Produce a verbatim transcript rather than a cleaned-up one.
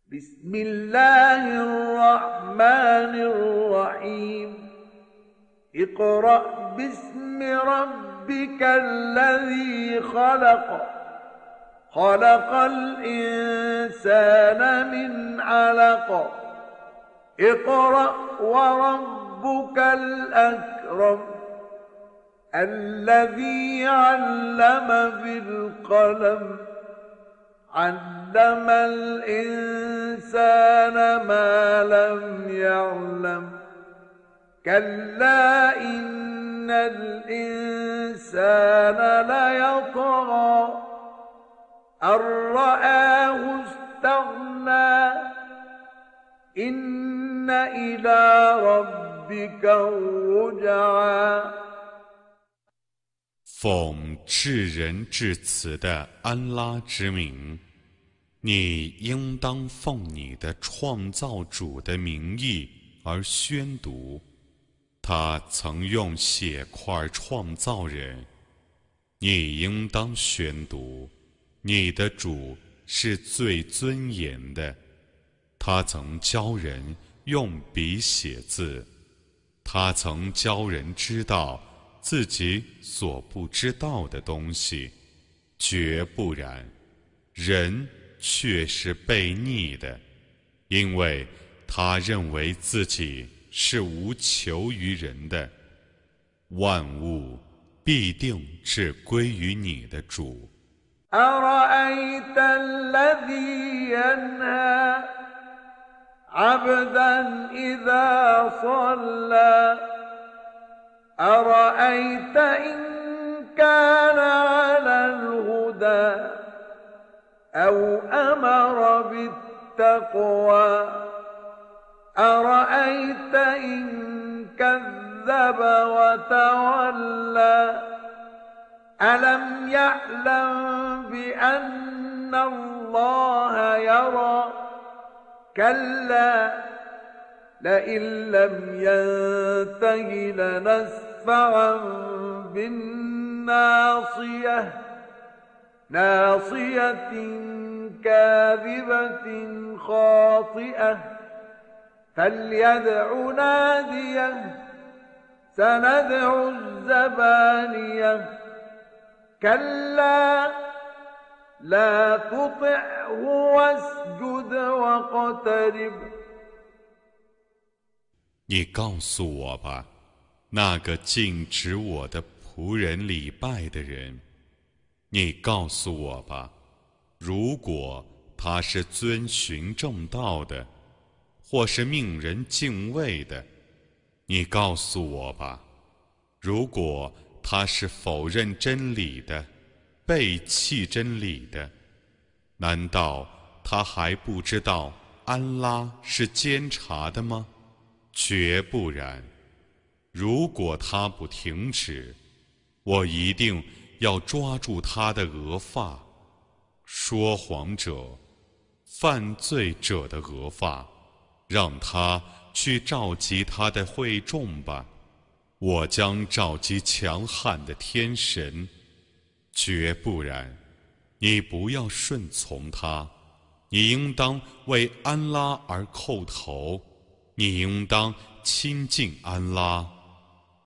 بسم الله الرحمن الرحيم اقرأ باسم ربك الذي خلق خلق الإنسان من علق اقرأ وربك الأكرم الذي علم بالقلم علم الإنسان ما لم يعلم كلا إن الإنسان ليطغى أن رآه استغنى إن إلى ربك الرجعى 奉至仁至慈的安拉之名，你应当奉你的创造主的名义而宣读。他曾用血块创造人，你应当宣读。你的主是最尊严的，他曾教人用笔写字，他曾教人知道自己所不知道的东西，绝不然，人却是悖逆的，因为他认为自己是无求于人的。万物必定是归于你的主。 أرأيت الذي ينهى عبدا إذا صلى أرأيت إن كان على الهدى أو أمر بالتقوى أرأيت إن كذب وتولى ألم يعلم بأن الله يرى كلا لئن لم ينته لنسفعا بالناصية ناصية كاذبة خاطئة فليدع ناديه سندع الزبانية كلا لا تطعه واسجد واقترب 你告诉我吧，那个禁止我的仆人礼拜的人，你告诉我吧，如果他是遵循正道的，或是命人敬畏的，你告诉我吧，如果他是否认真理的，背弃真理的，难道他还不知道安拉是监察的吗？绝不然，如果他不停止，我一定要抓住他的额发，说谎者、犯罪者的额发，让他去召集他的会众吧。我将召集强悍的天神，绝不然，你不要顺从他，你应当为安拉而叩头，你应当亲近安拉。